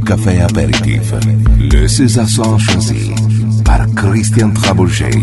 Café Apéritif. Le César choisi par Christian Trabouget.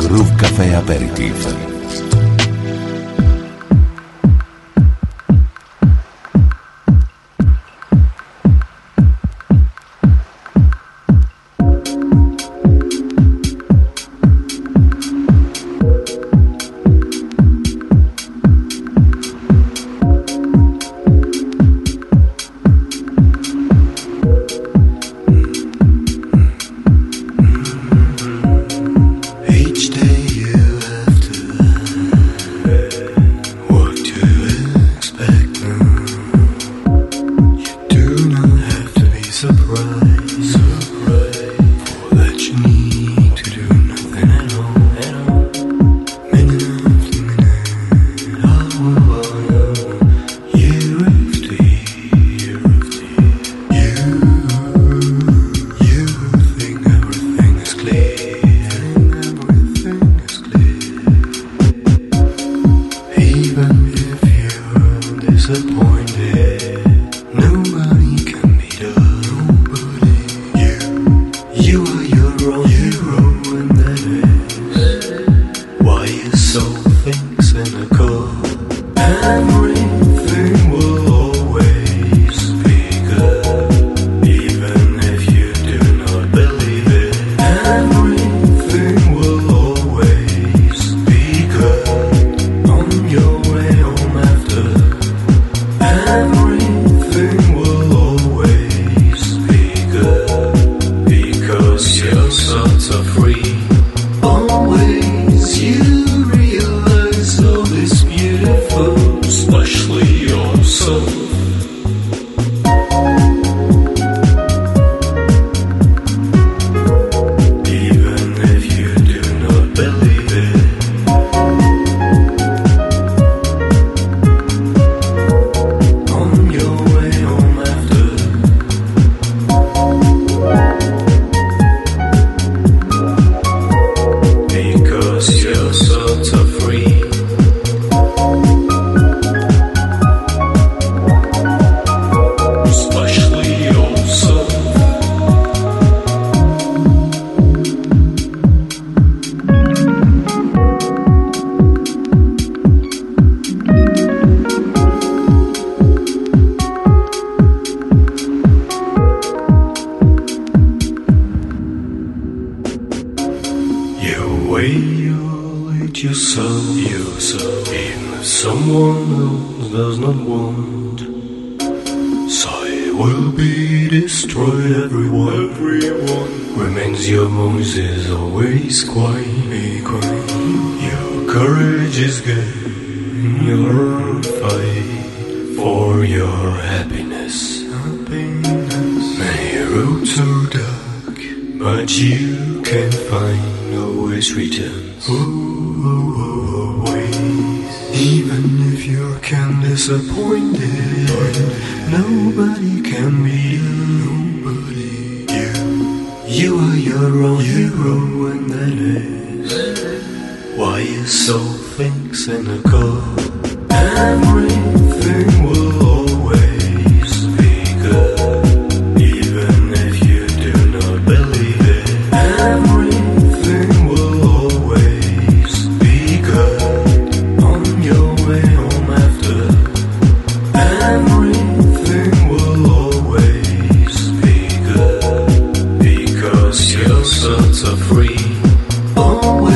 Groove Café Aperitif.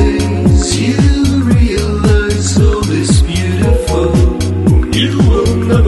You will know.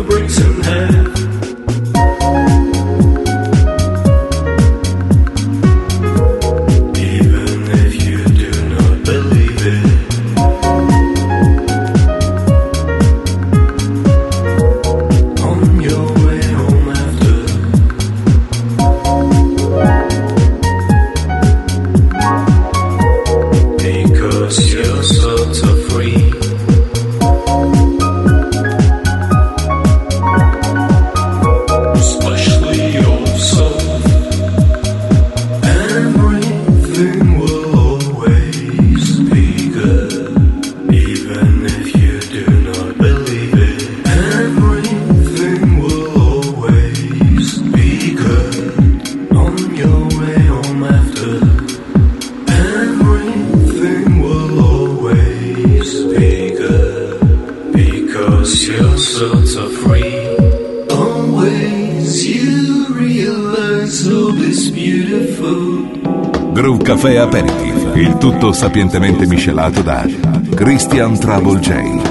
Caffè Aperitif, il tutto sapientemente miscelato da Christian Trouble J.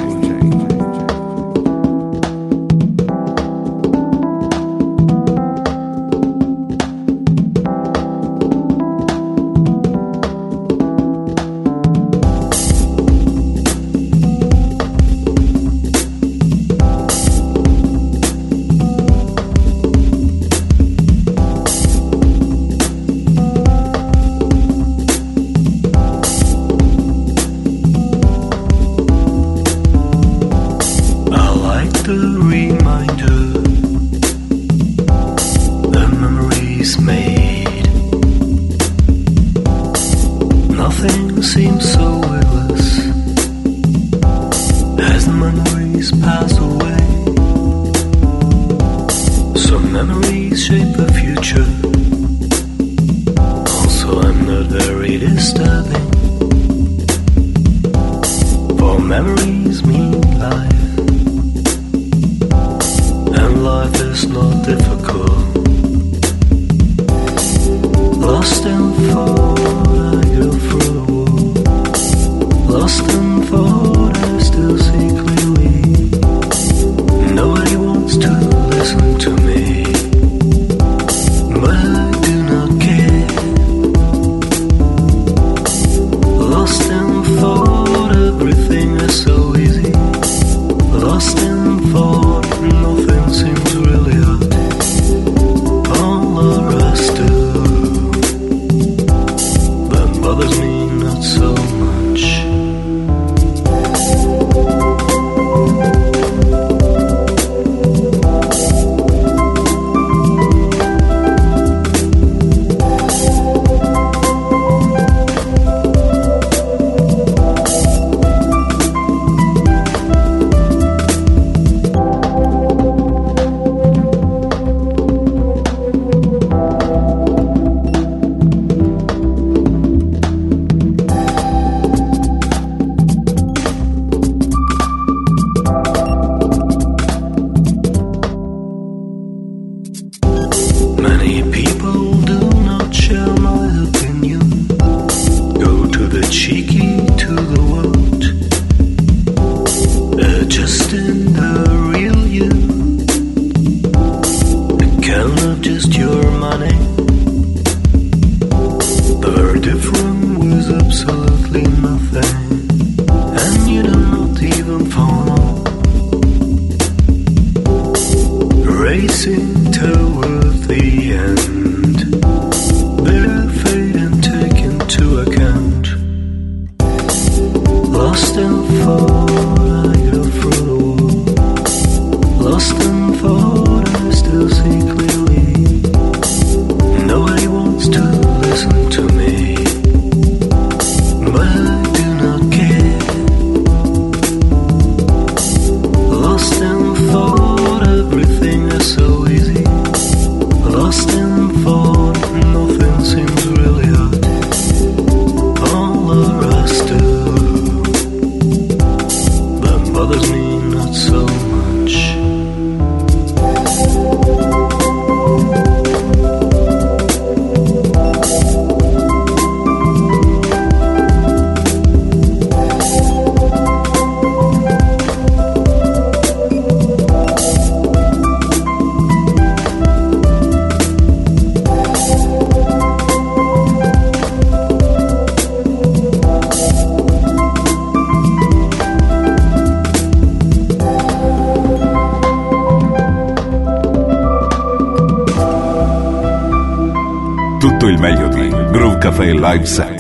Tutto il meglio di Groove Café Live Set.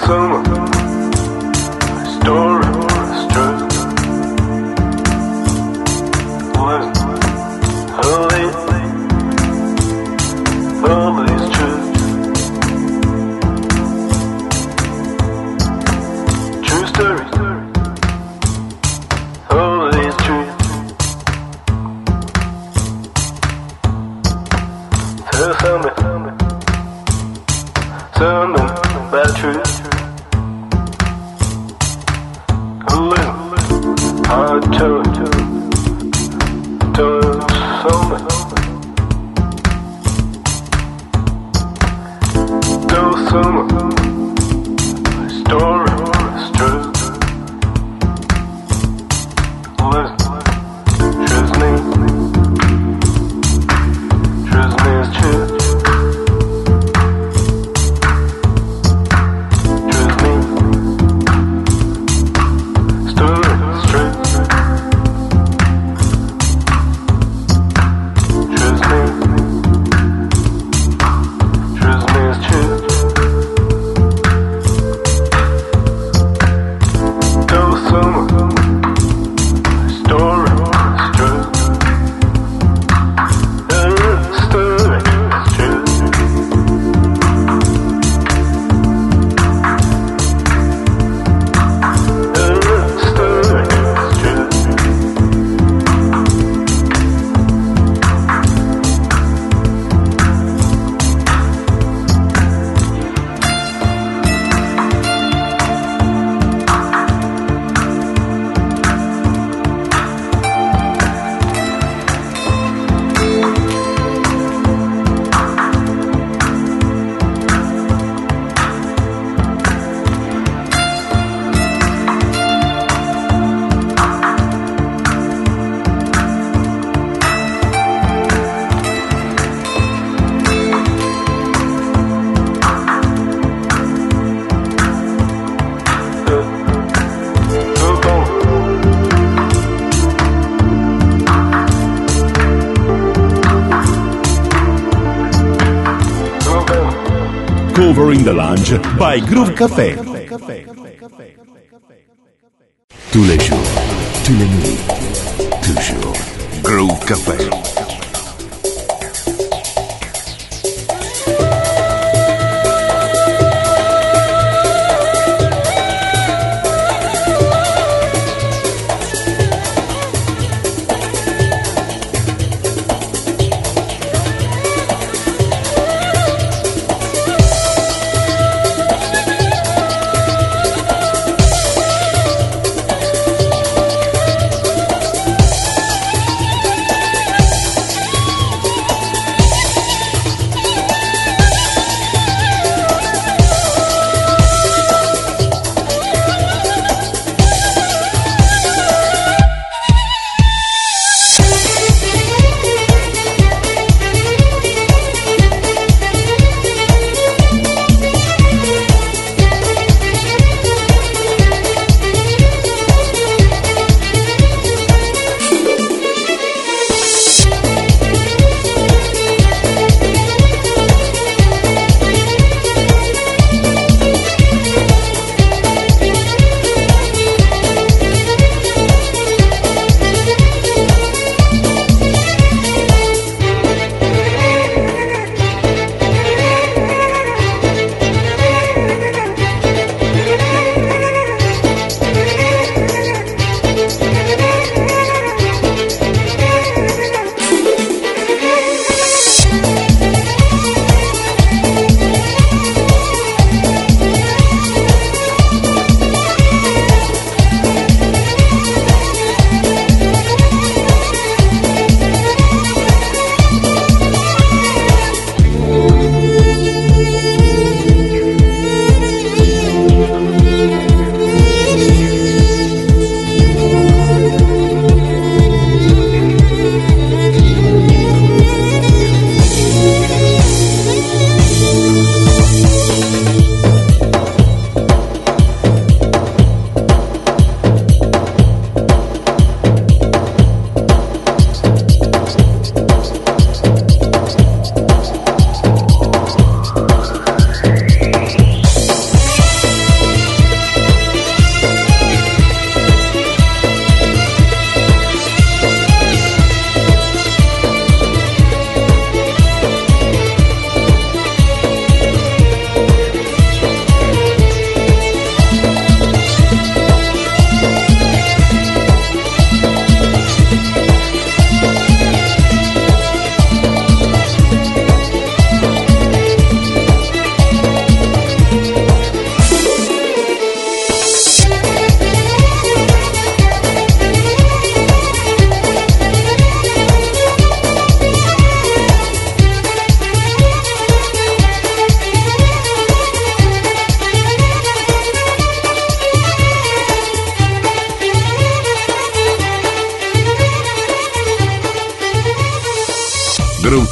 Covering the Lounge by Groove Café. Tous les jours, tous les nuits, toujours Groove Café.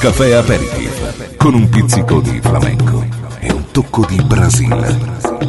Caffè Aperitif, con un pizzico di flamenco e un tocco di Brasile.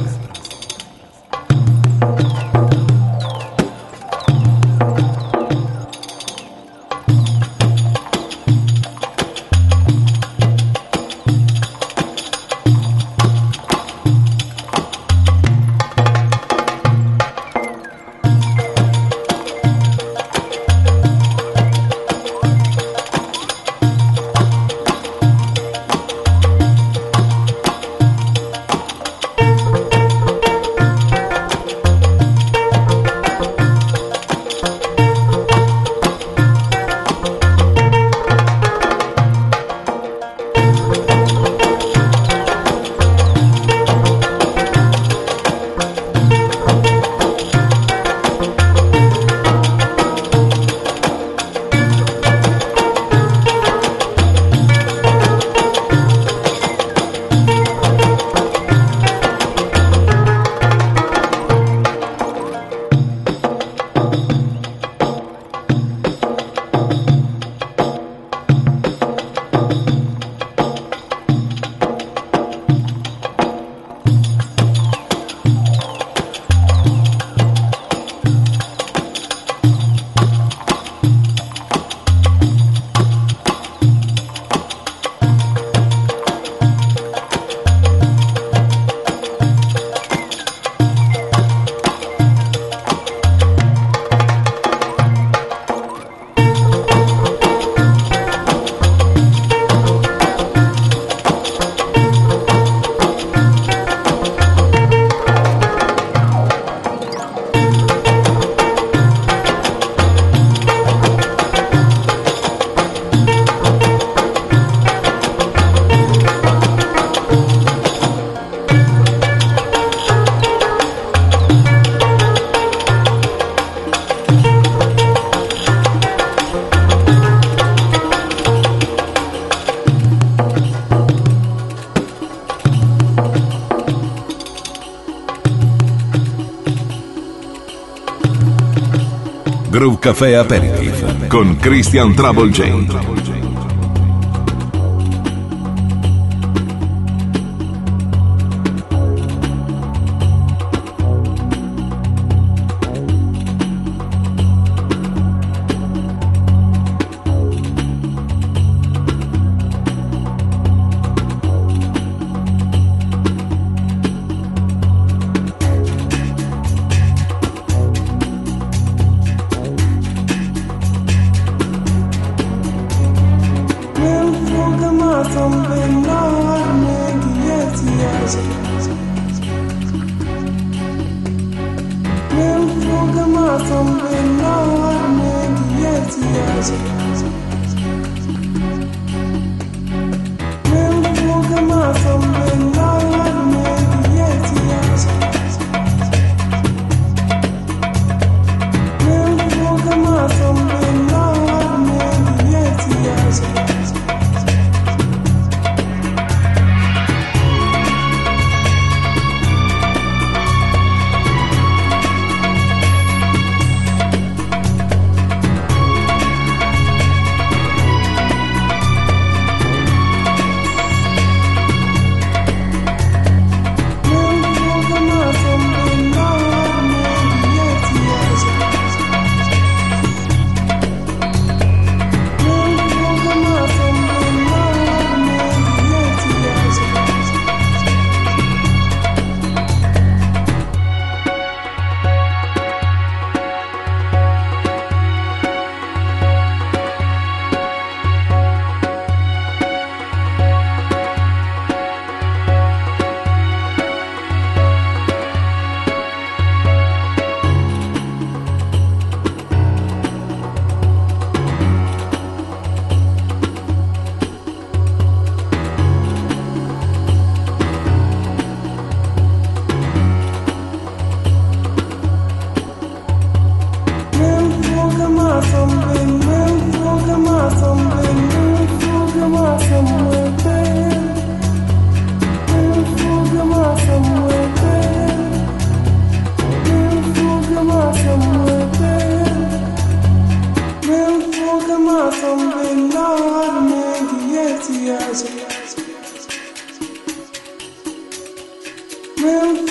Groove Café Aperitif con Christian Trouble J.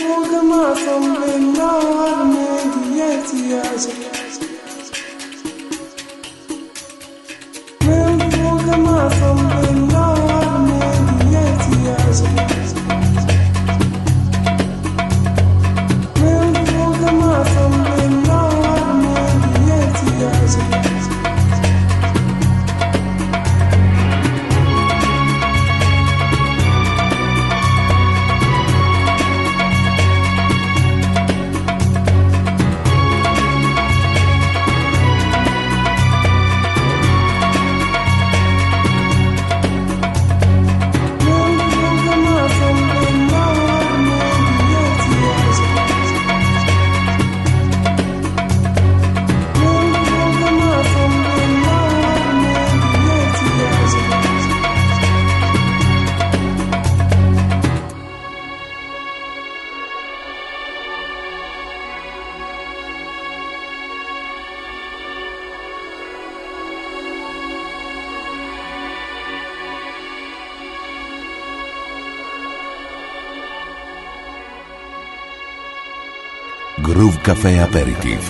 Groove Café Aperitif.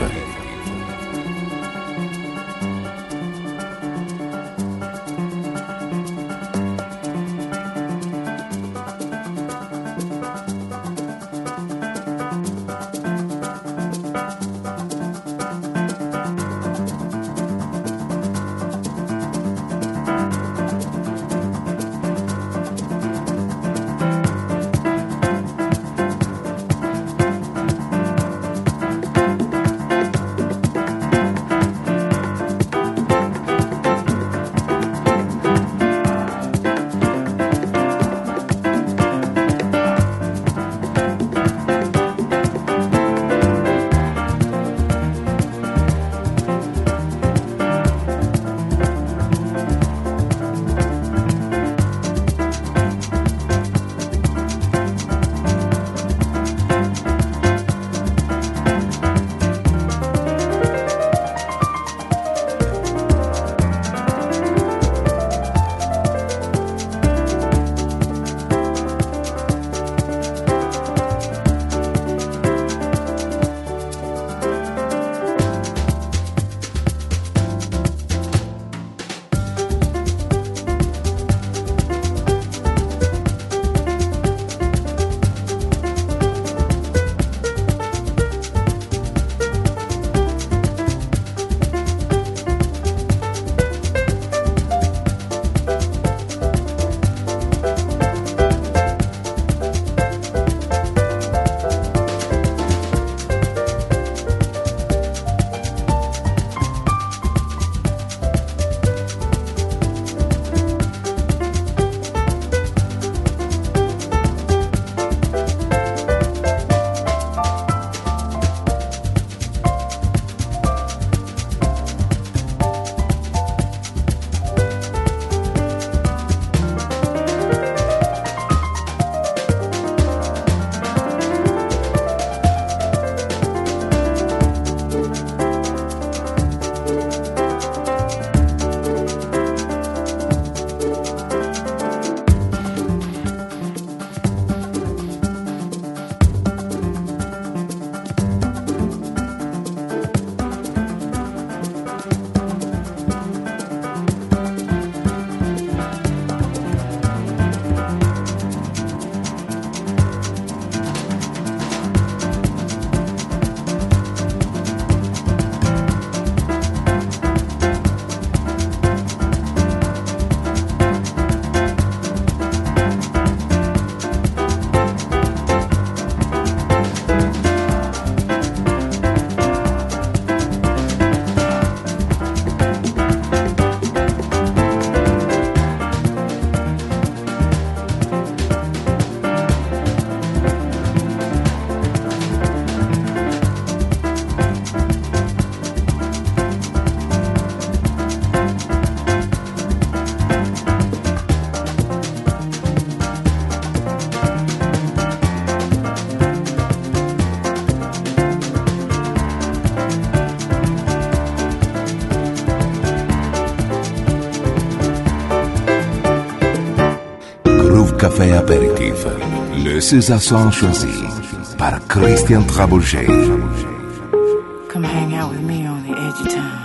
Café Apéritif, le César choisi par Christian Trabouget. Come hang out with me on the edge of town.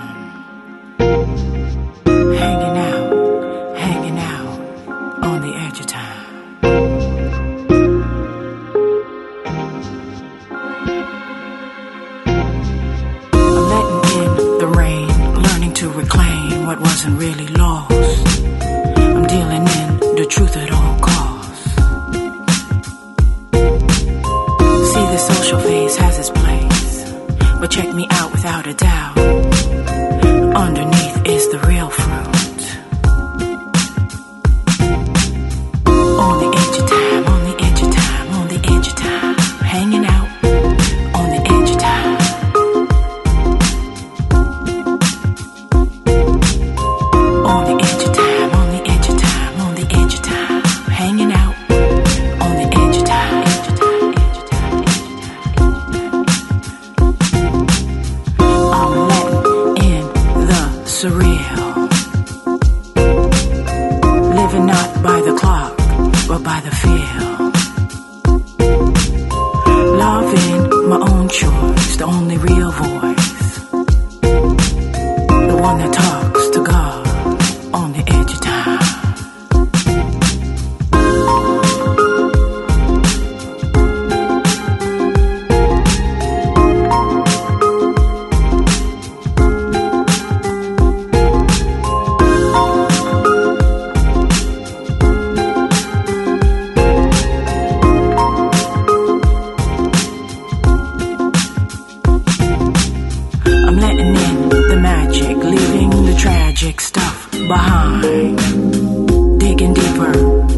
Hanging out on the edge of town. I'm letting in the rain, learning to reclaim what wasn't really lost. I'm dealing in the truth at all costs. See, the social phase has its place, but check me out without a doubt. Underneath is the real fruit. On the edge of time, on the edge of time, on the edge of time. Hanging out on the edge of time. On the edge of time, on the edge of time, on the edge of time. Hanging out on the edge of time. I'm letting in the surreal. Living not by the clock, but by the feel. Loving my own choice, the only real voice. The one that talks to God on the edge of time. I'm letting in the magic, leaving the tragic stuff behind. Digging deeper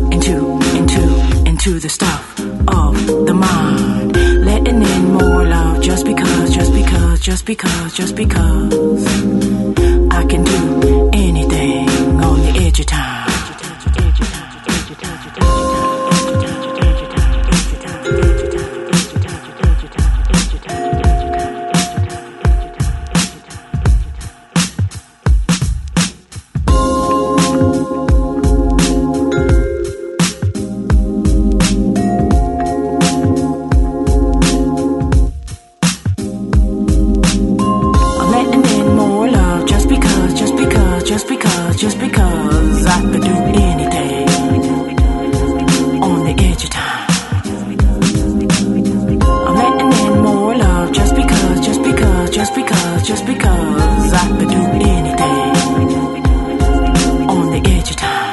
into the stuff of the mind. Letting in more love just because I can do anything on the edge of time. I'm letting in more love just because I could do anything on the edge of time. I'm letting in more love just because I could do anything on the edge of time.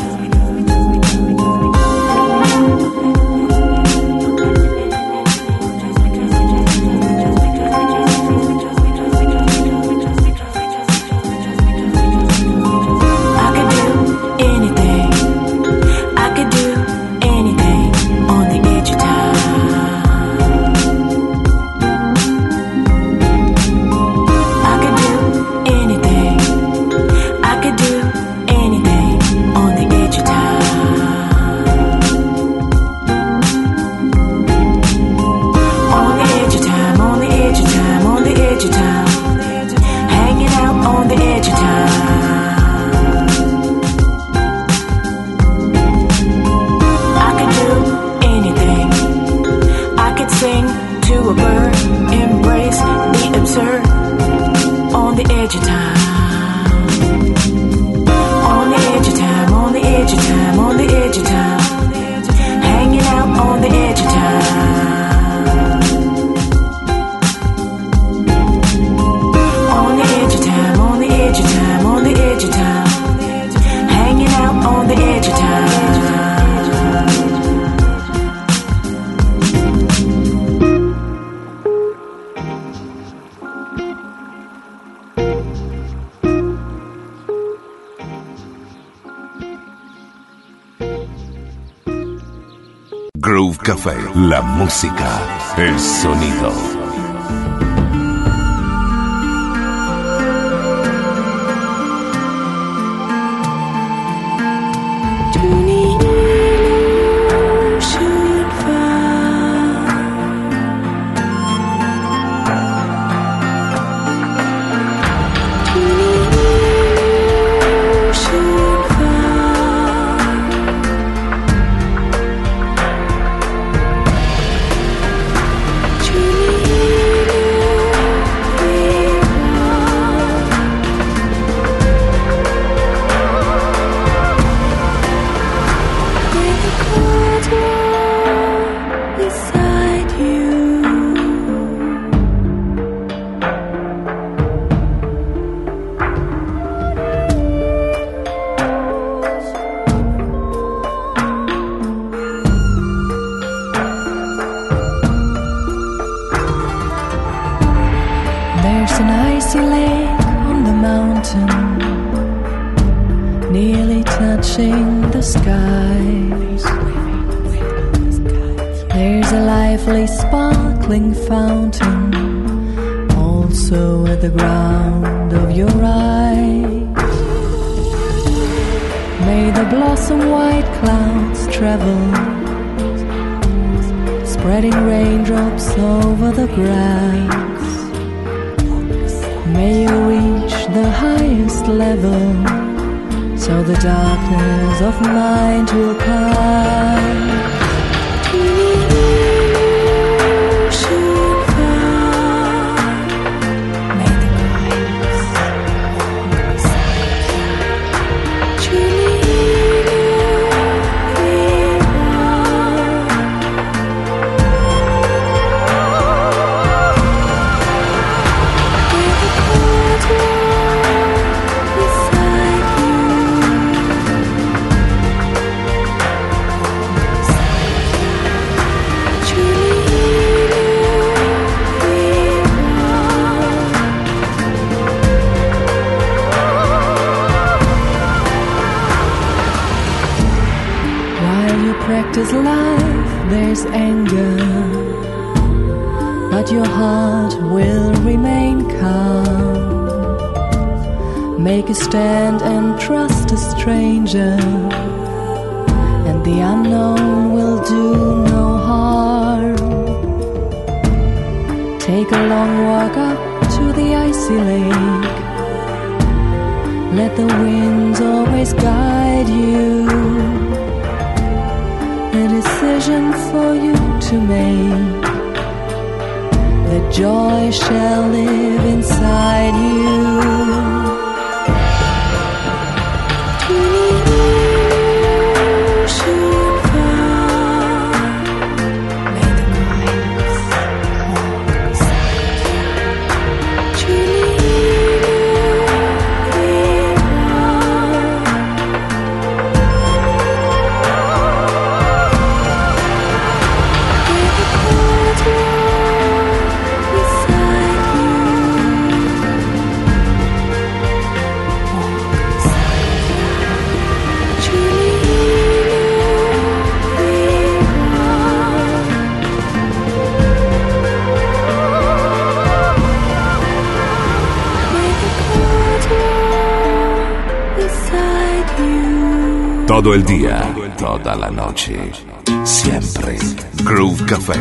Groove Café, la música, el sonido. icy lake on the mountain, nearly touching the skies. There's a lively sparkling fountain also at the ground of your eyes. May the blossom white clouds travel, spreading raindrops over the grass. May you reach the highest level, so the darkness of mind will climb. Practice life, there's anger, but your heart will remain calm. Make a stand and trust a stranger, and the unknown will do no harm. Take a long walk up to the icy lake. Let the winds always guide you. A decision for you to make. The joy shall live inside you. Todo el día, toda la noche, siempre Groove Café.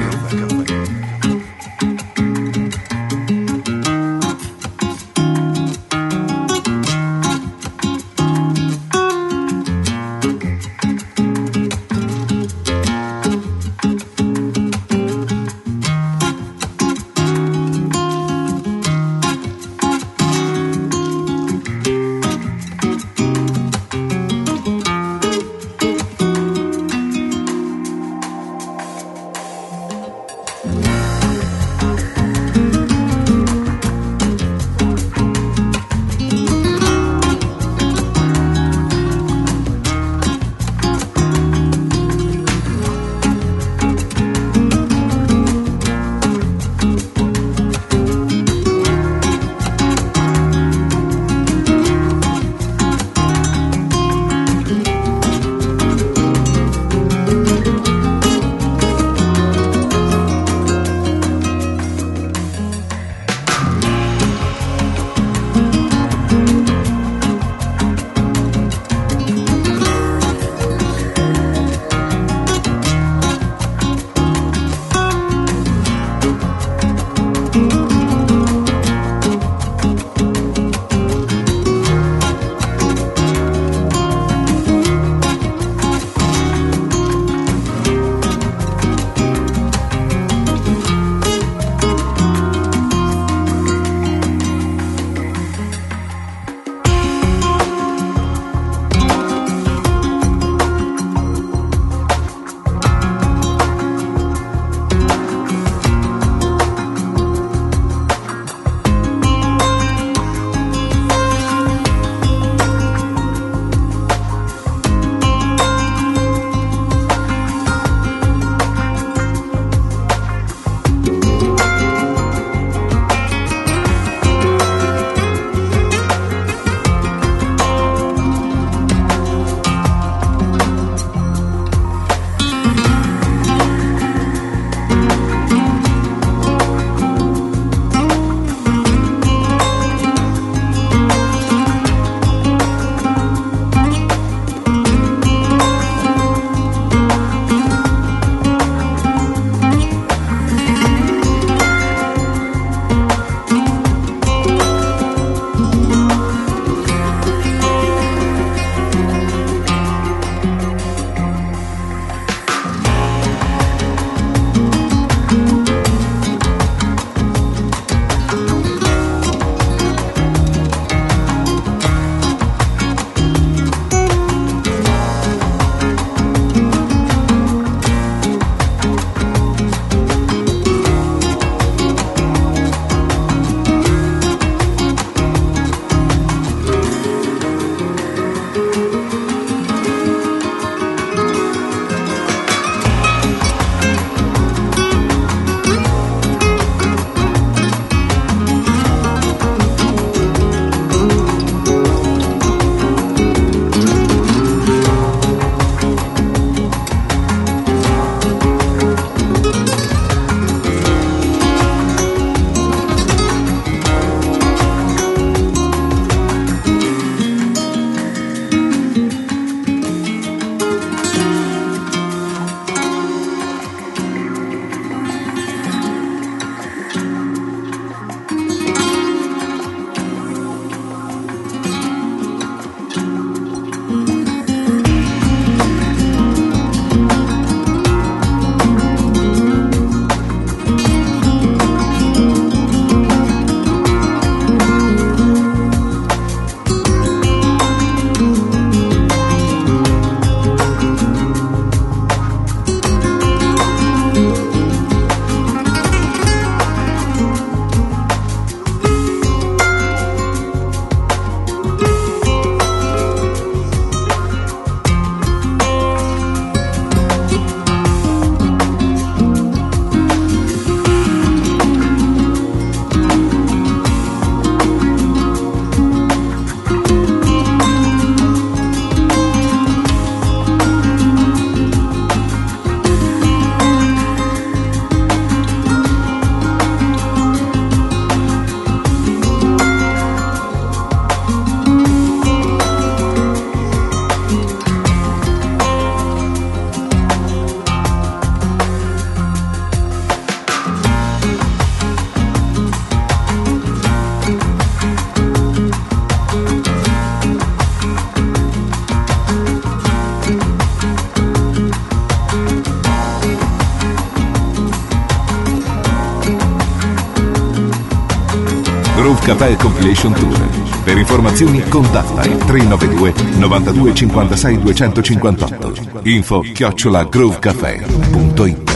Groove Café Compilation Tour. Per informazioni contatta il 392 92 56 258. info@groovecafé.it.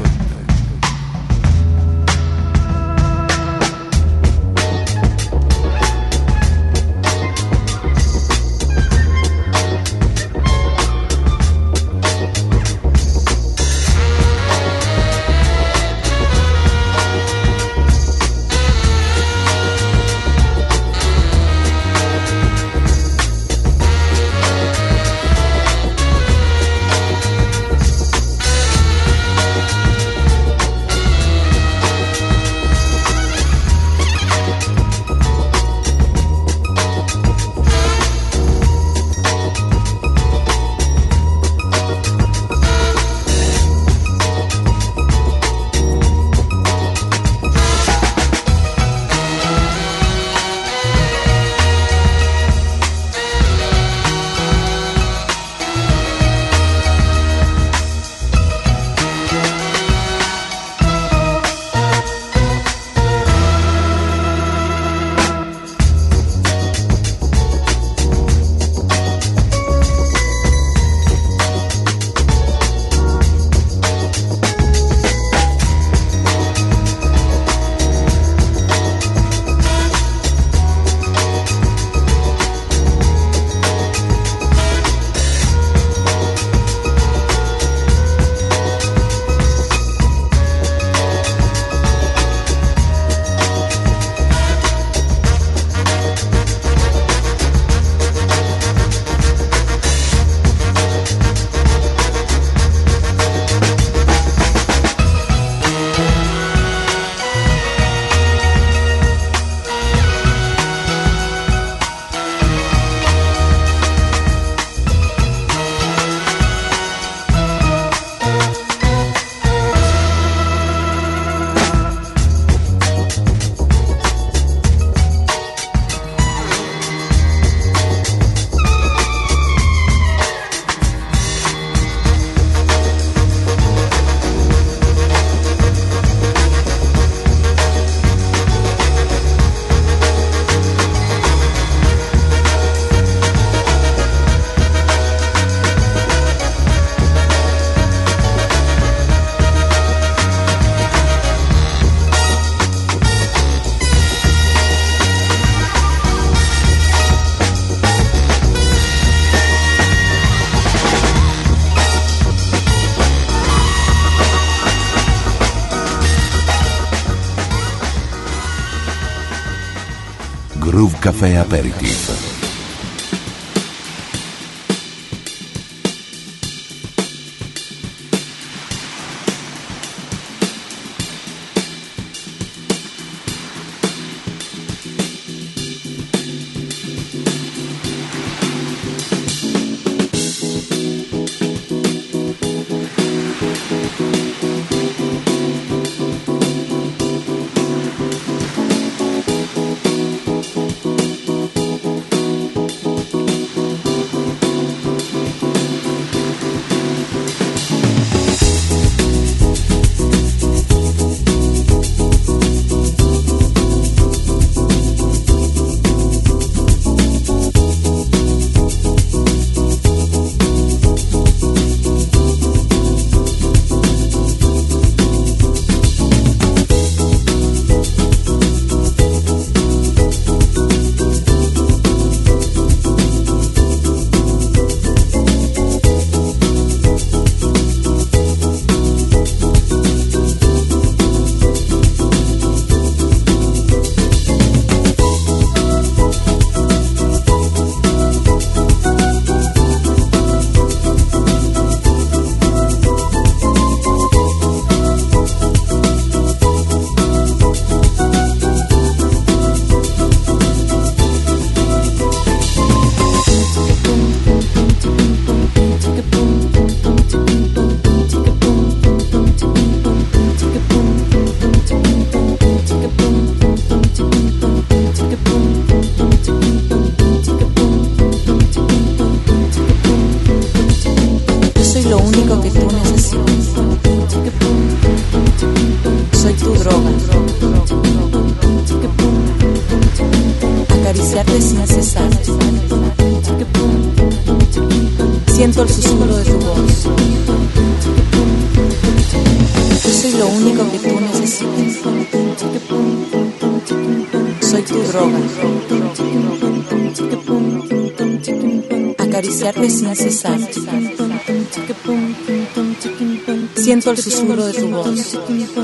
Groove Café Aperitif. lo único que tú necesitas. Soy tu droga. acariciarte sin cesar. Siento el susurro de tu voz. Yo soy lo único que tú necesitas. Soy tu droga. Acariciarte sin cesar. Siento el susurro de tu voz.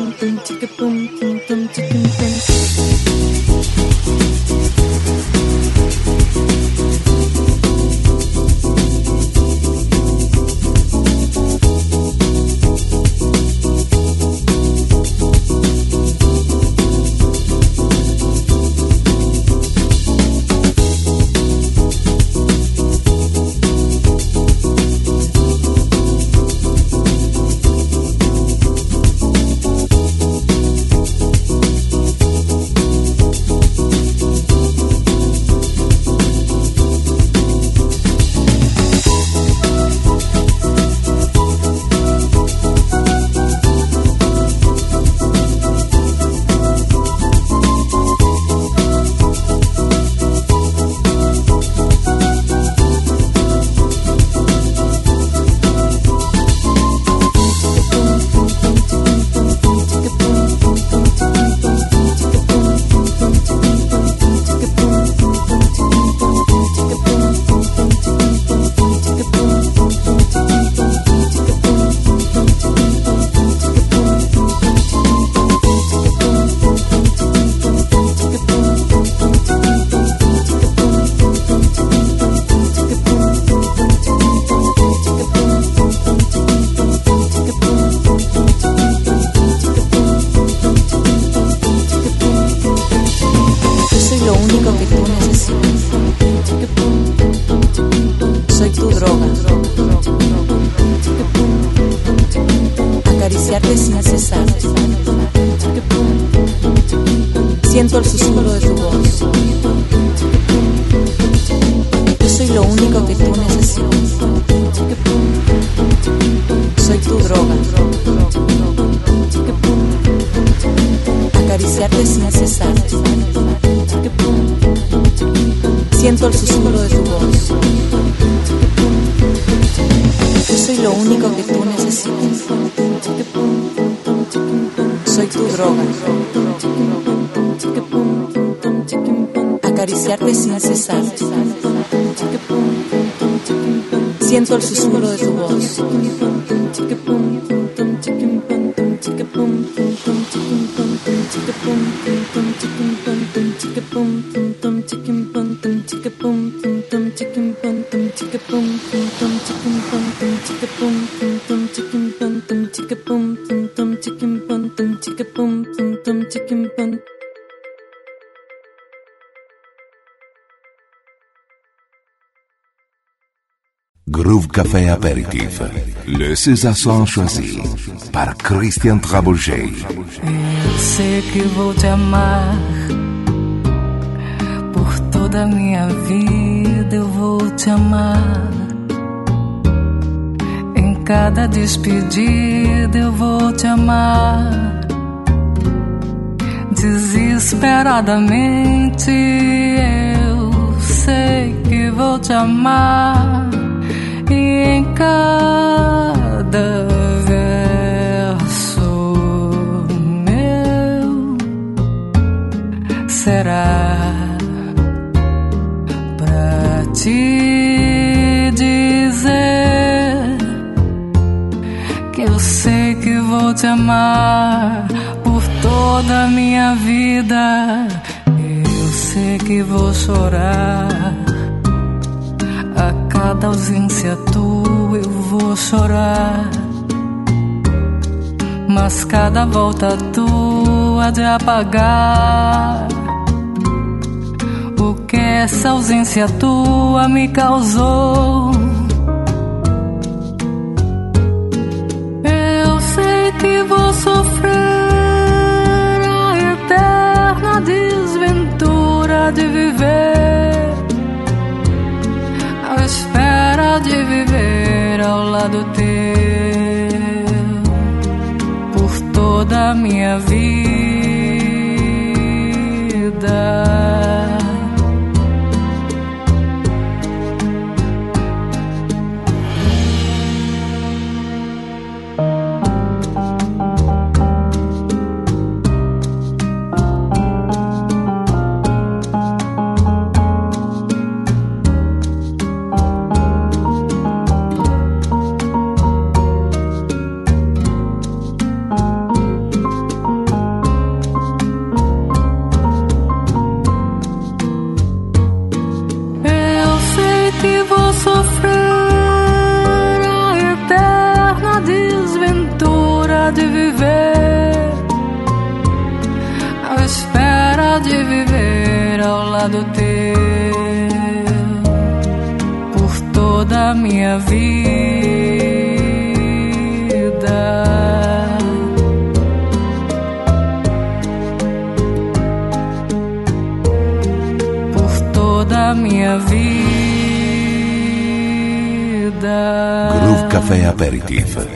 Acariciarte sin cesar. Siento el susurro de tu voz. Yo soy lo único que tú necesitas. Soy tu droga. Acariciarte sin cesar. Siento el susurro de tu voz. Yo soy lo único que tú necesitas. Soy tu droga. Acariciarte sin cesar. Siento el susurro de tu voz. Groove Café Apéritif, le César choisi par Christian Trabouget. Eu sei que vou te amar por toda a minha vida, eu vou te amar. Em cada despedida eu vou te amar. Desesperadamente eu sei que vou te amar. E em cada verso meu será pra te dizer que eu sei que vou te amar por toda a minha vida. Eu sei que vou chorar. A cada ausência tua eu vou chorar, mas cada volta tua de apagar o que essa ausência tua me causou. Eu sei que vou sofrer a eterna desventura de viver, à espera de viver ao lado teu por toda a minha vida. sofrer a eterna desventura de viver, à espera de viver ao lado teu por toda a minha vida. Por toda a minha vida. Groove Café Aperitif.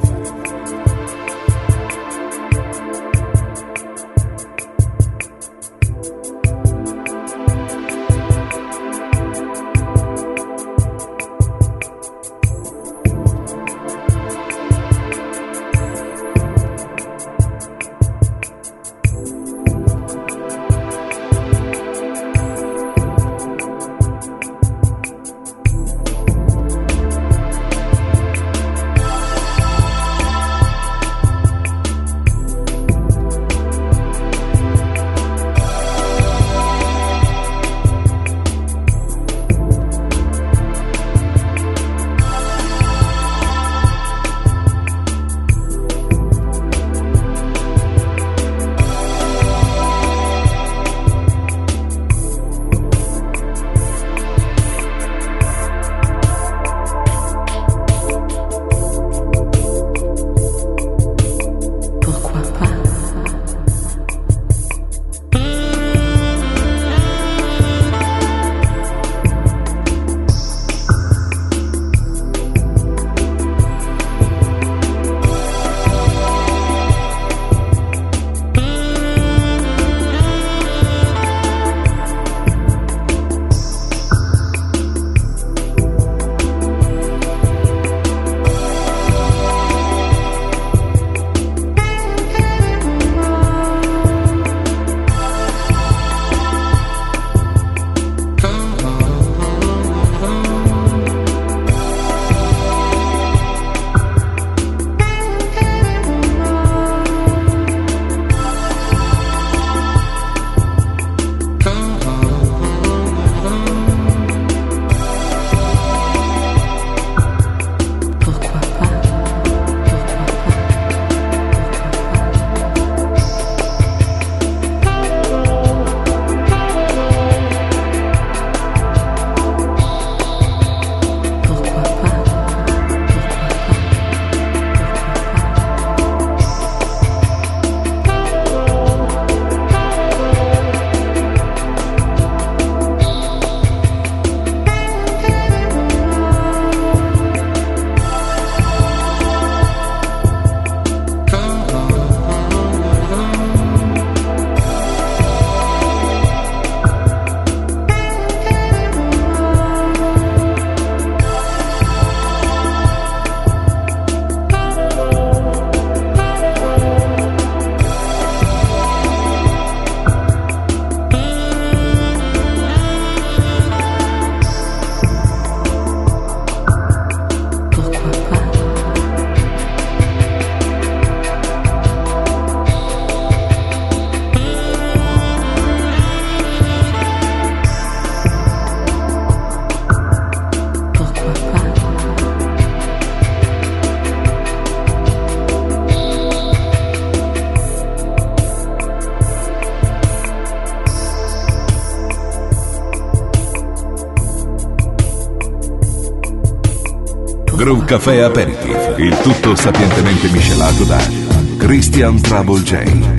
Groove Café Aperitif, il tutto sapientemente miscelato da Christian Trouble J.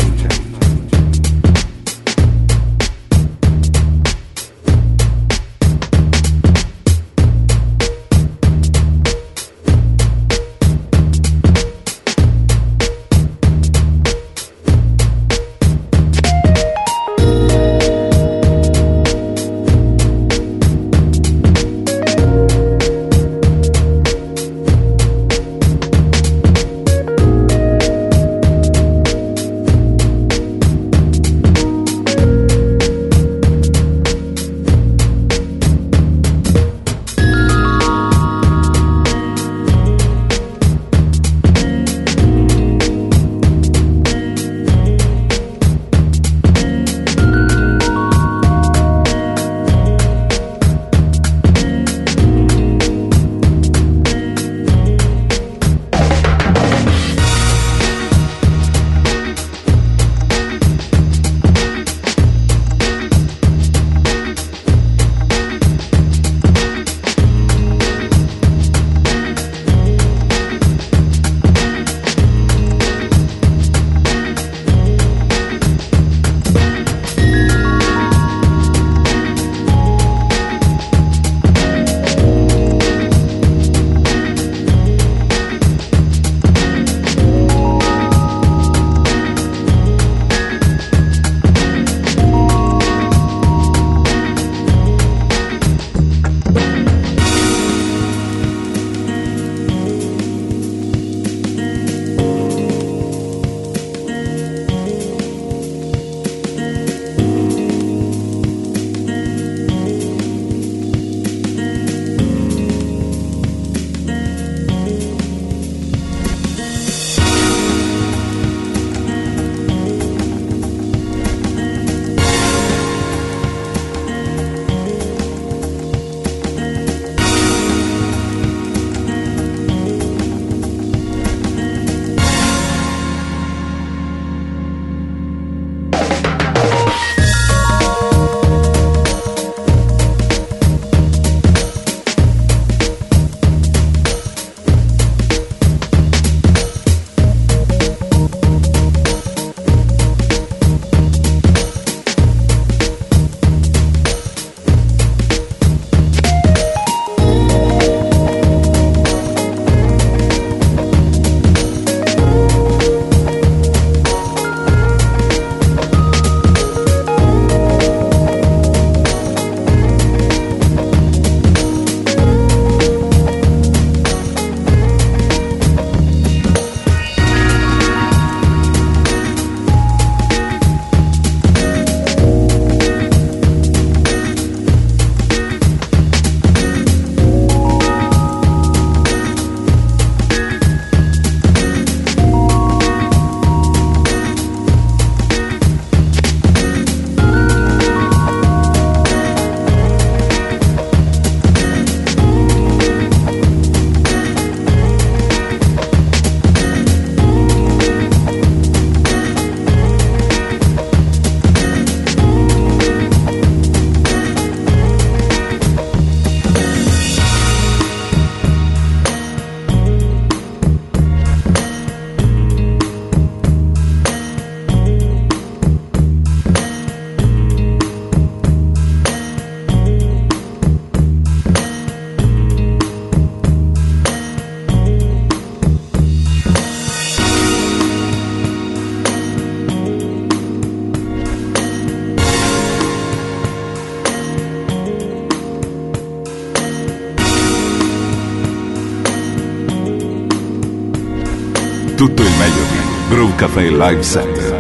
Tutto il meglio di Groove Café Live Set.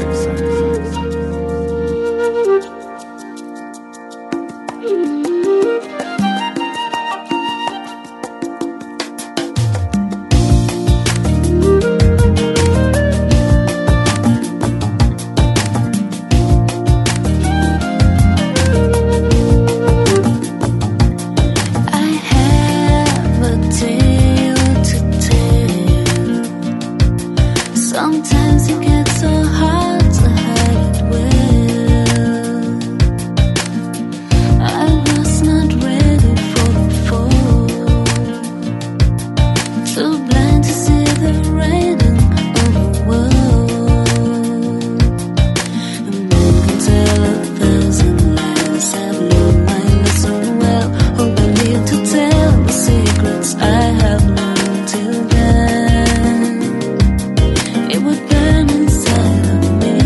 Sometimes it gets so hard to hide it well. I was not ready for the fall, too blind to see the writing on the wall. And man can tell 1,000 lies. I've learned my lesson well. Hope I need to tell the secrets I have learned till then. It would burn inside of me.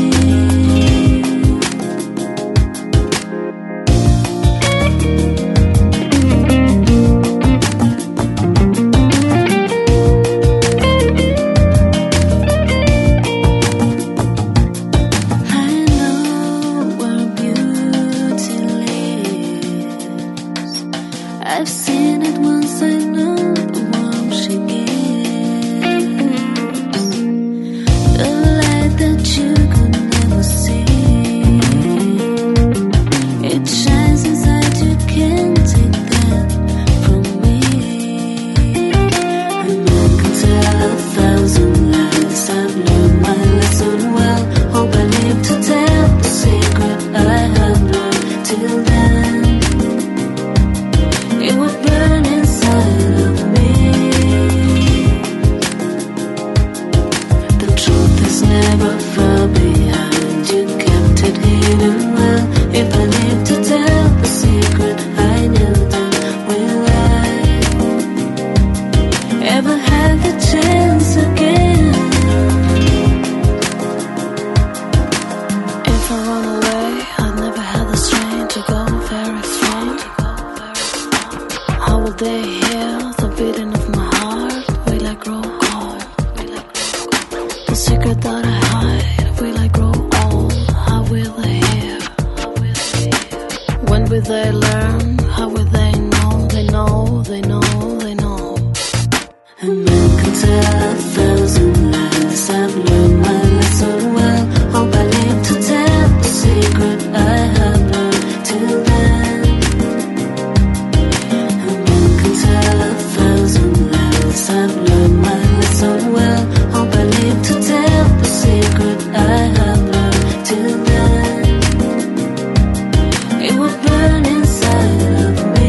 I know where beauty lives. I've seen it once, I know the warm she gives. The light that you could never see, it shines inside, you can't take that from me. And I can tell 1,000 lies. I've learned my lesson well. Hope I live to tell the secret I have learned till then. It would burn inside of me. The truth is never far behind. You kept it hidden well. If I live to tell the secret I knew, then will I ever have the chance again? If I run away, I'd never have the strength to go very far. How will they hear the beating of my heart? Will I grow cold? The secret that I hide, will I grow old? How will they hear? When will they learn? How will they know? They know, they know, they know. And man can tell 1,000 lies. I've learned my lesson well. Hope I live to tell the secret I have learned till then. And man can tell 1,000 lies. I've learned my lesson well. Hope I live to tell the secret I have learned till then. It would burn inside of me.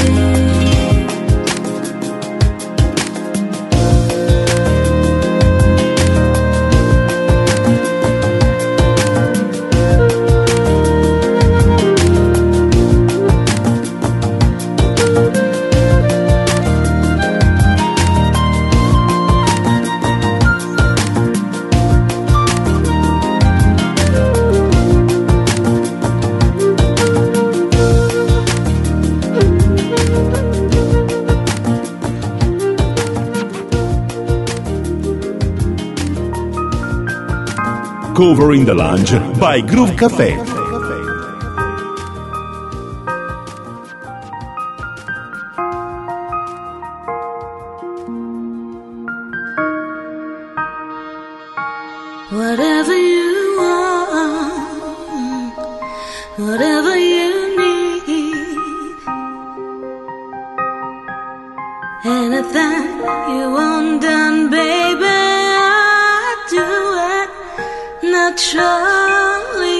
Covering the Lounge by Groove Café. Whatever you want, whatever you need, anything you want done, baby, I do it naturally.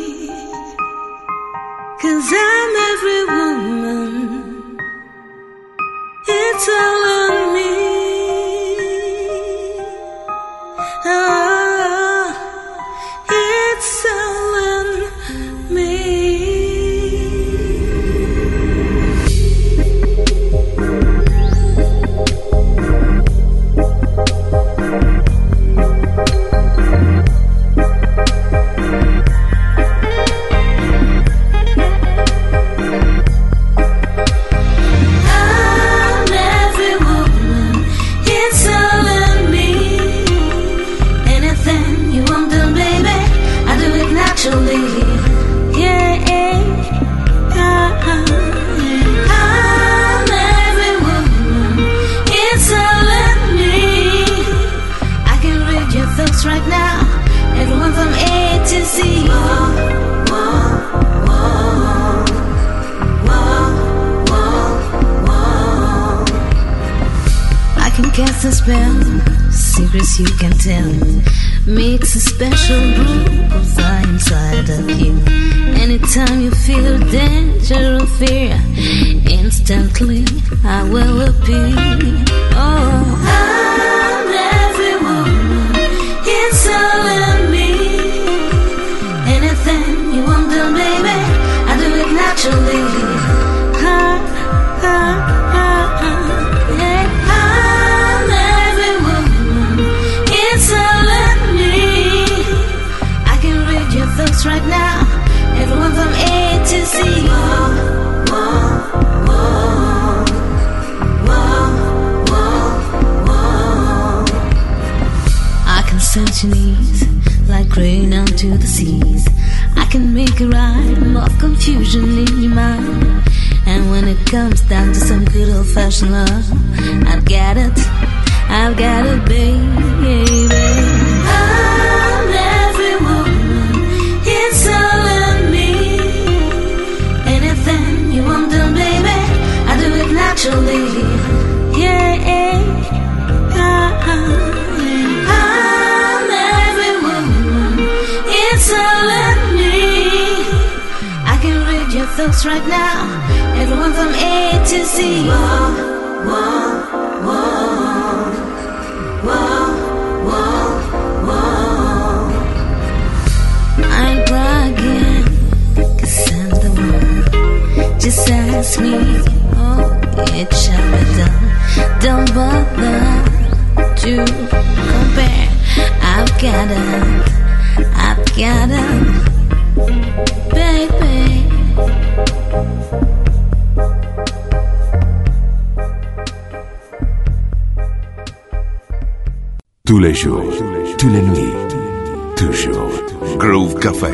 'Cause I'm every woman, it's all in me. Oh, it's all in me. I'm every a spell, secrets you can tell. Makes a special brew of fire inside of you. Anytime you feel danger or fear, instantly I will appear. Oh, I'm every woman, it's all in me. Anything you want done, baby, I do it naturally. Ha, ha, ha, ha. Yeah, I'm every woman, it's all in me. I can read your thoughts right now, everyone from A to Z. Whoa, whoa, whoa, whoa, whoa, whoa. I can sense your needs like rain onto the seas. I can make a rhyme of confusion in your mind. And when it comes down to some good old-fashioned love, I've got it, baby. I'm every woman, it's all in me. Anything you want done, baby, I do it naturally. Yeah, I'm every woman, it's all in me. I can read your thoughts right now, everyone from A to Z. Whoa, whoa, whoa, whoa, whoa, whoa. I ain't bragging, 'cause I'm the one. Just ask me, oh, it shall be done. Don't bother to compare. I've got it, baby. Tous les jours, toutes les nuits, toujours. Groove Café.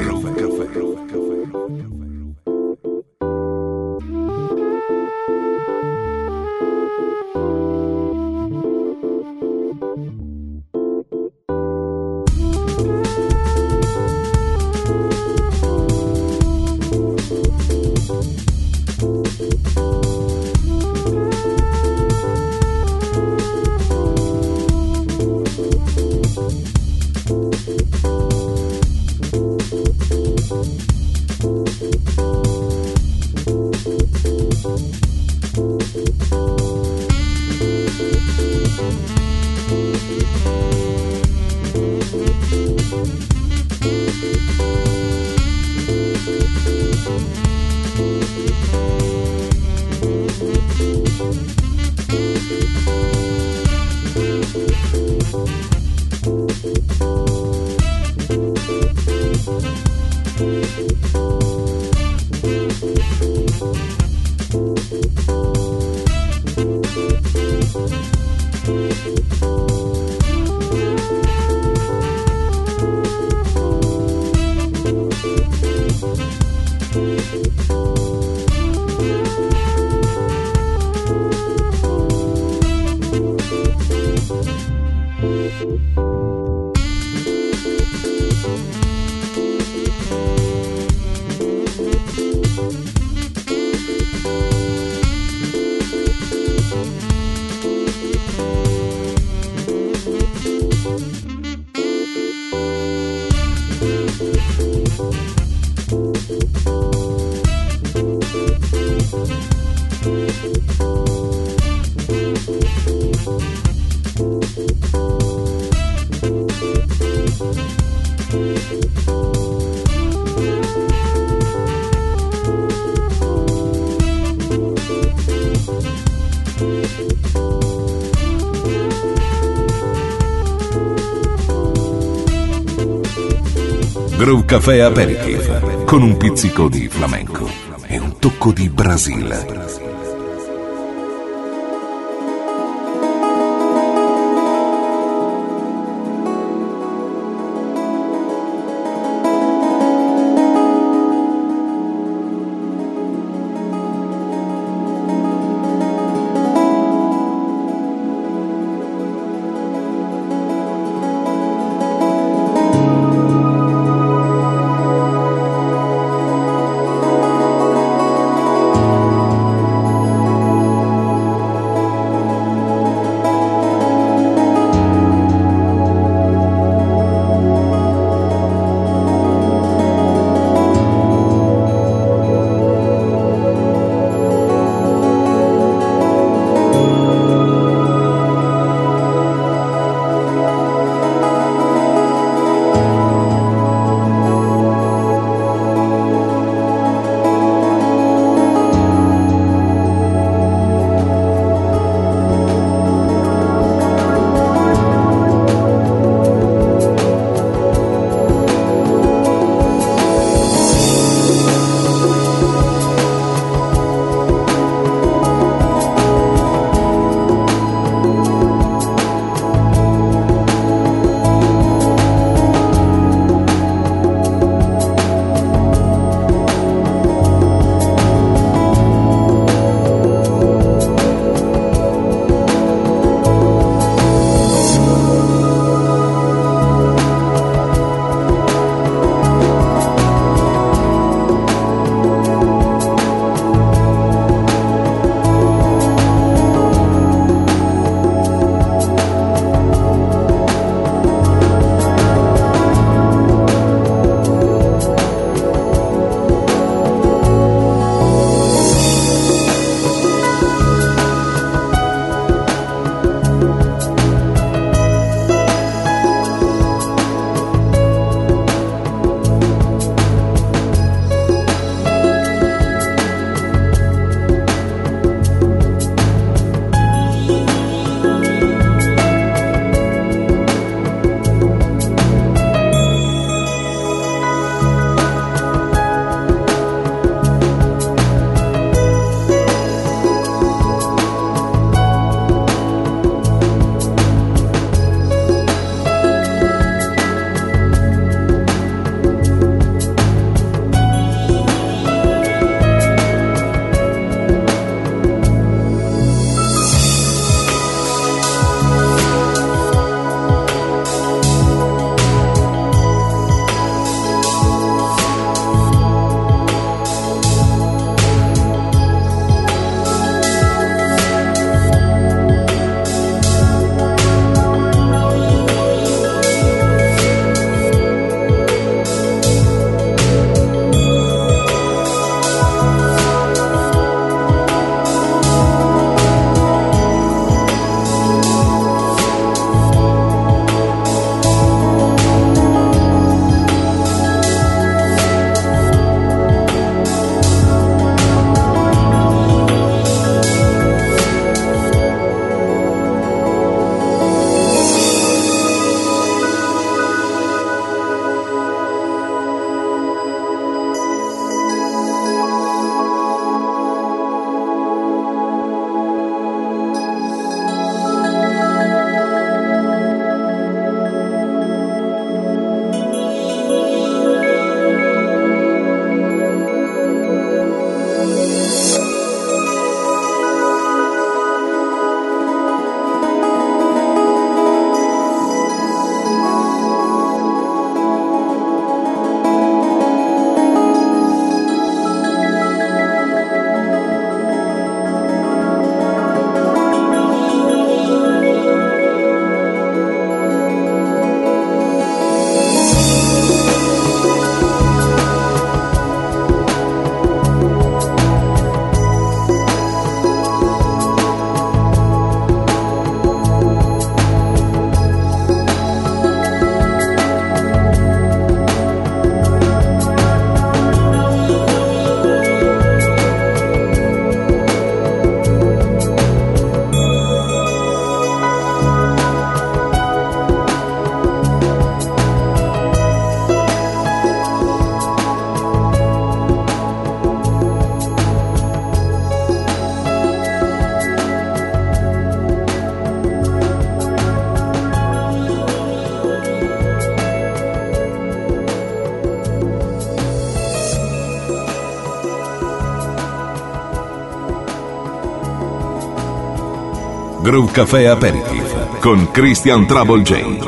Groove Café Aperitif, con un pizzico di flamenco e un tocco di Brasile. Groove Café Aperitif con Christian Trouble J.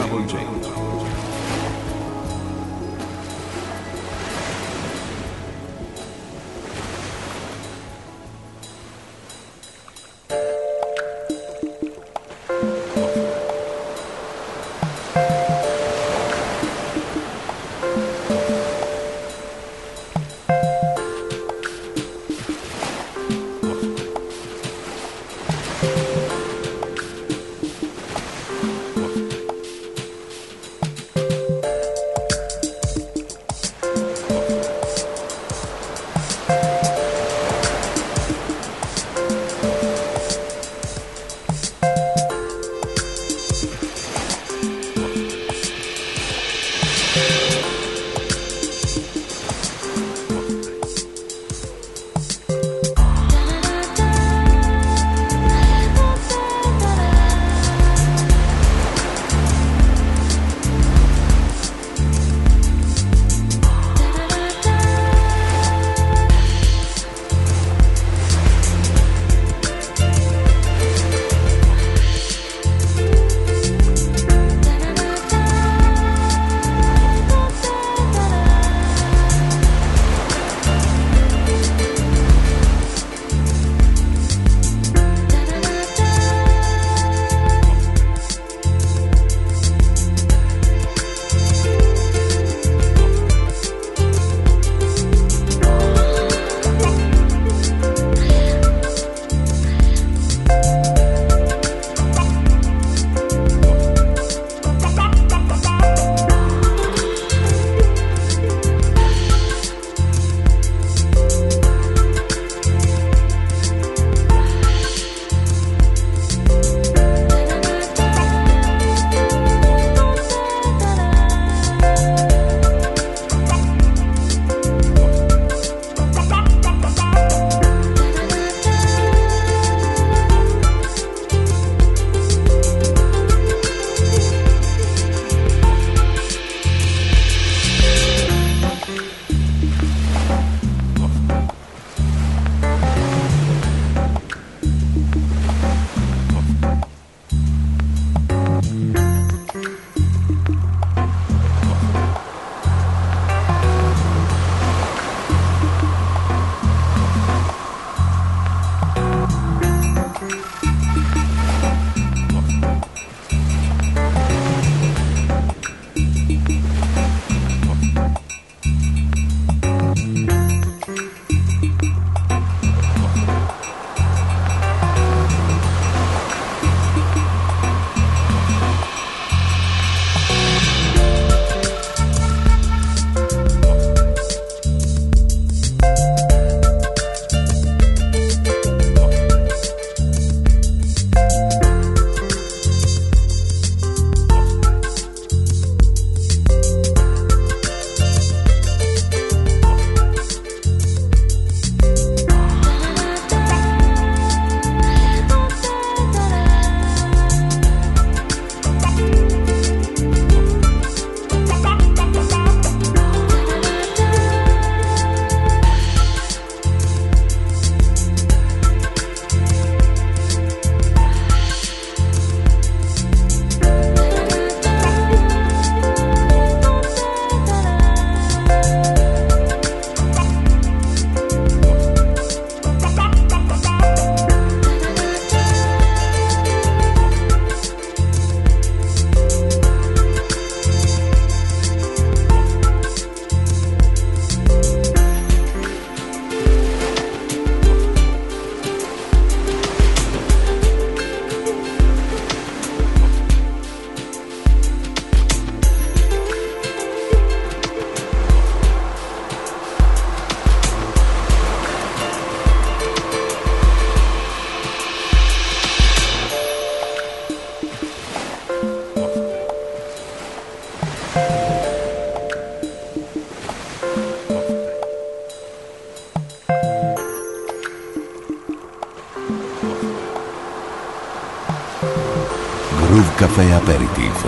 Groove Café Aperitif.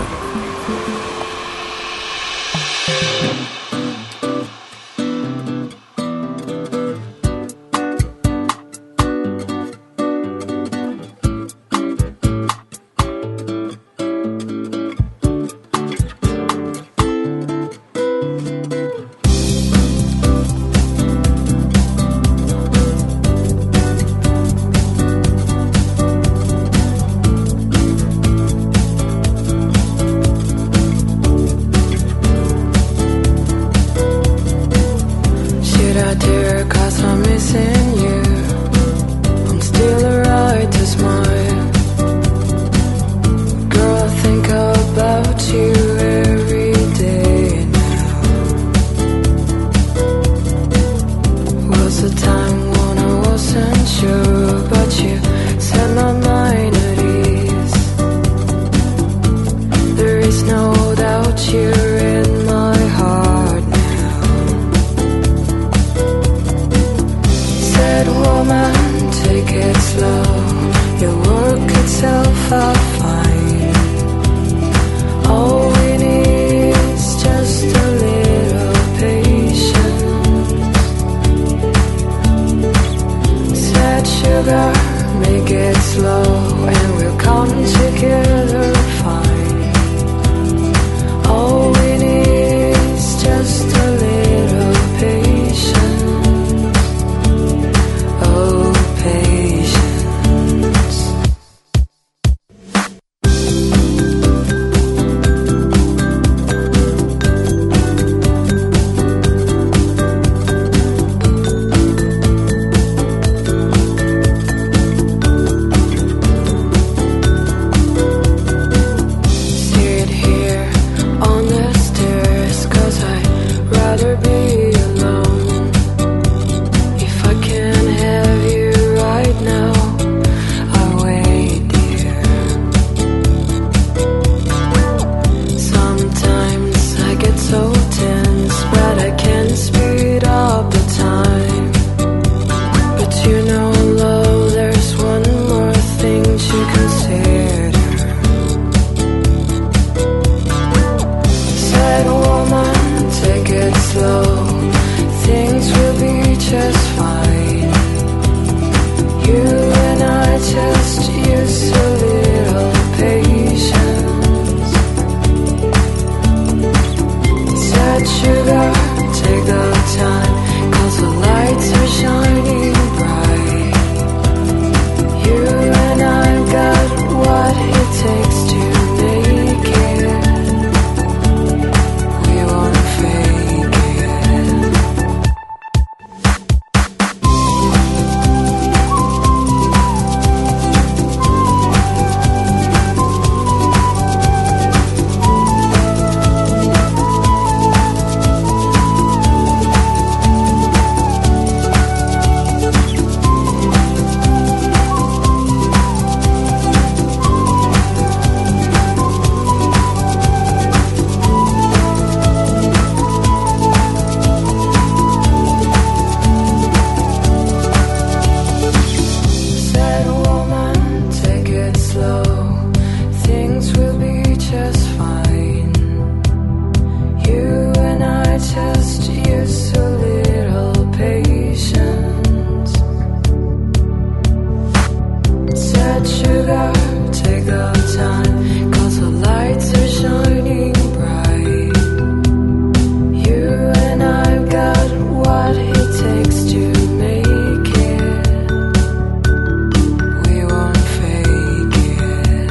here 'cause I'm missing you. I'm still alright to smile. Girl, I think about you every day now. Was a time when I wasn't sure, but you set my mind at ease. There is no doubt you're in my heart now. Said woman, take it slow. You'll work itself out fine. All we need is just a little patience. Said sugar, make it slow and we'll come together fine. All we need is just a little patience. Oh, patience. Sit here on the stairs 'cause I'd rather be alone. If I can't have you right now, I'll wait, dear. Sometimes I get so tense, but I can't speed up the time. But you know, love, there's one more thing to consider. Said woman, take it slow. Things will be just fine. You and I just use a little patience. Said sugar, take the time, 'cause the lights are shining bright. You and I got what it takes to make it. We wanna fake it. Said woman, take it slow. Things will be just fine. You and I just use a little patience. Said sugar, take the time, 'cause the lights are shining bright. You and I've got what it takes to make it. We won't fake it.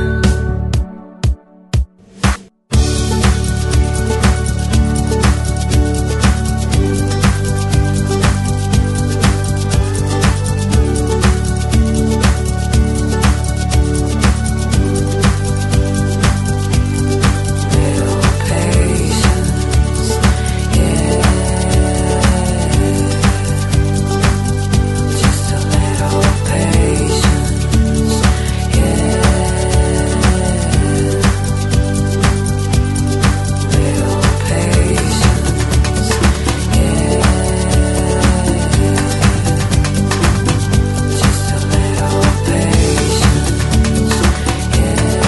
Little patience, yeah. Just a little patience, yeah. Little patience, yeah. Just a little patience, yeah.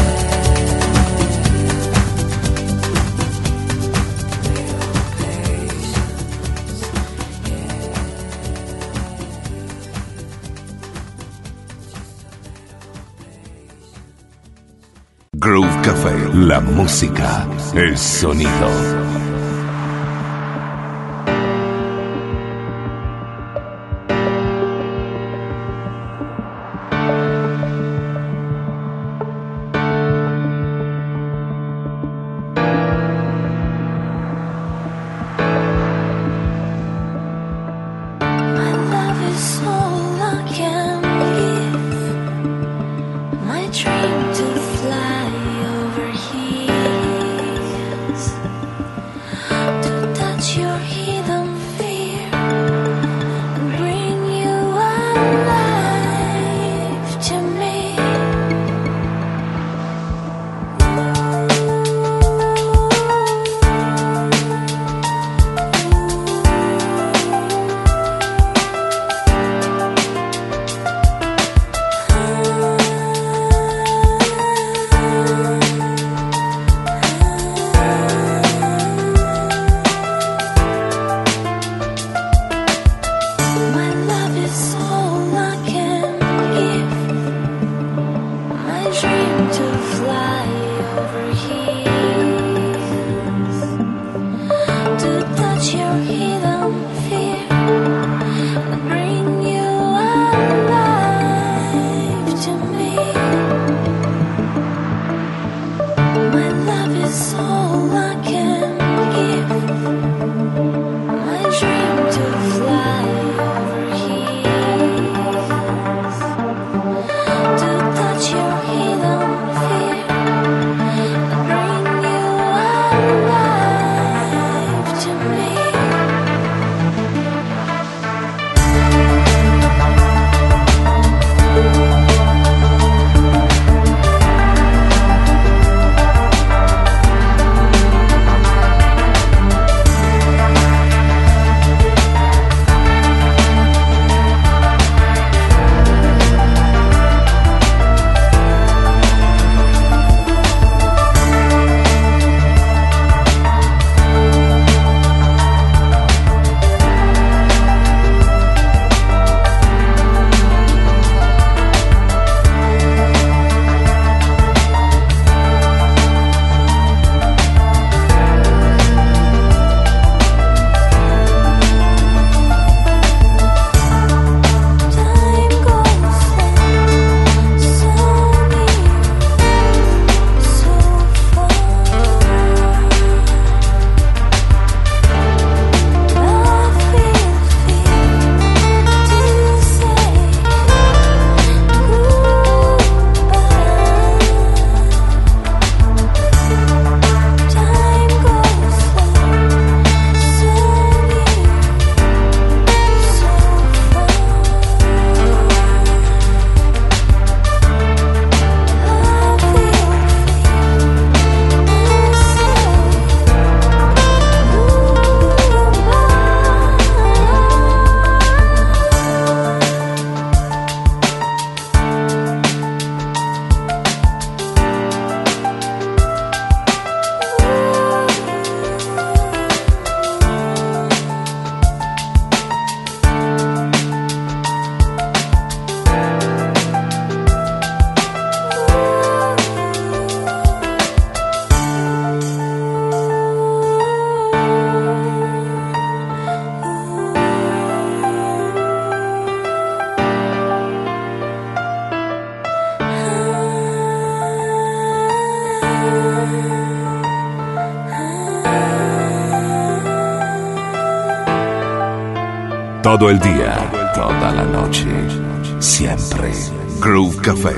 Groove Café, la música, el sonido. Todo el día, toda la noche, siempre. Groove Café.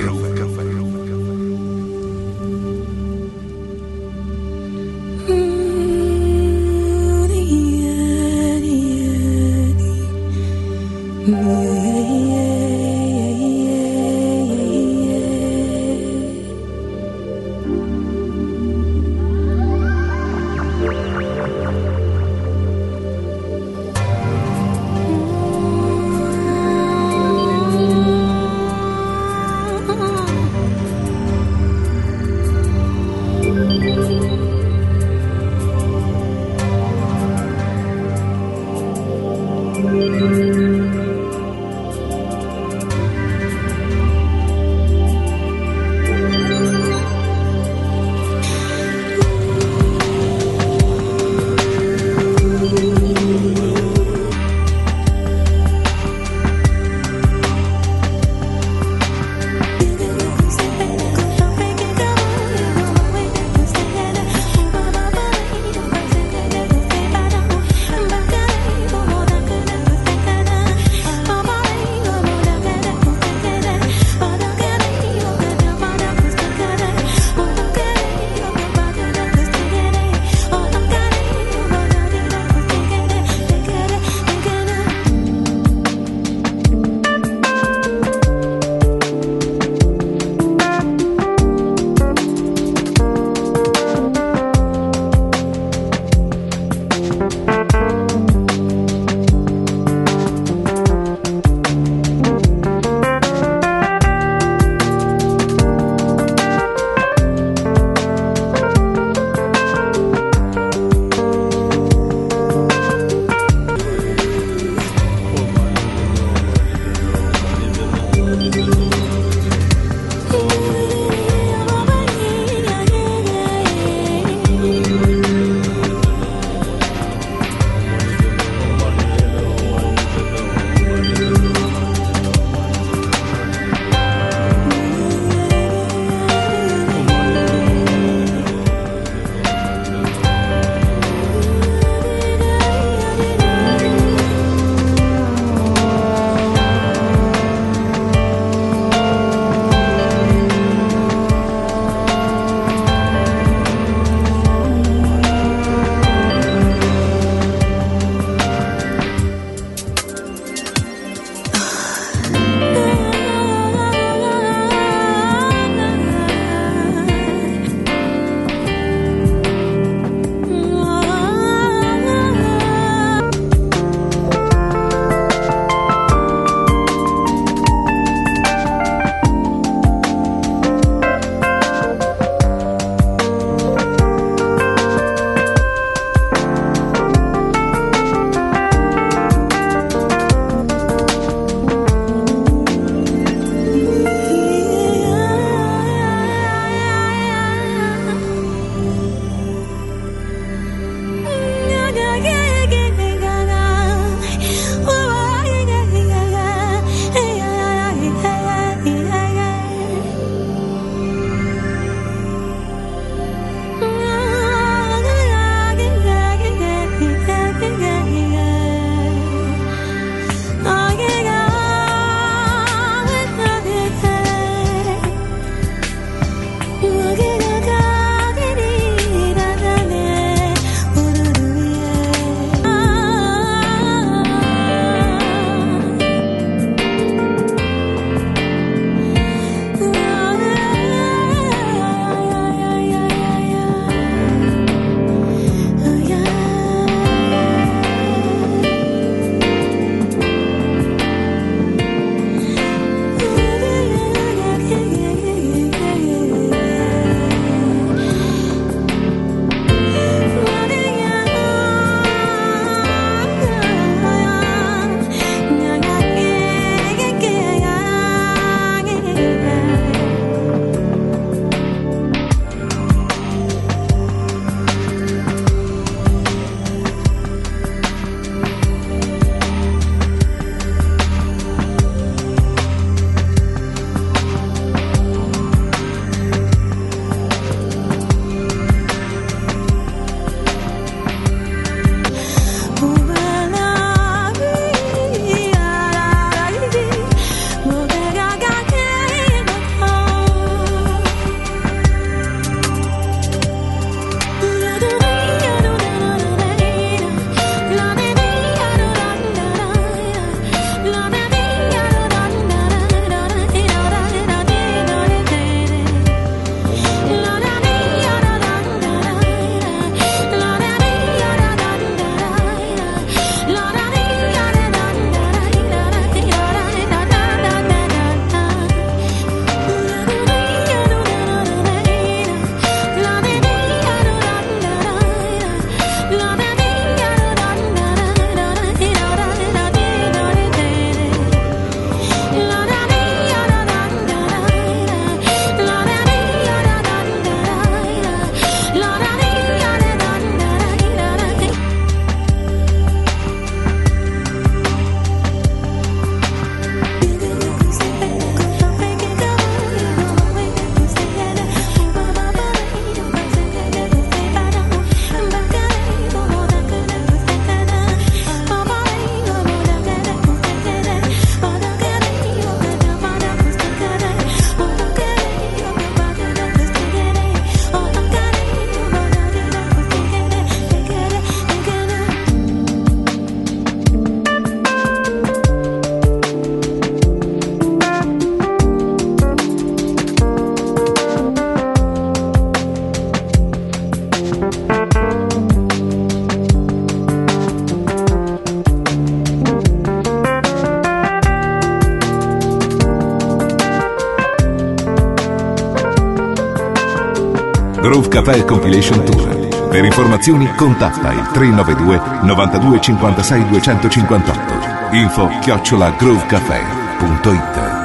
Groove Café Compilation Tour. Per informazioni contatta il 392 92 56 258. Info @groovecafé.it.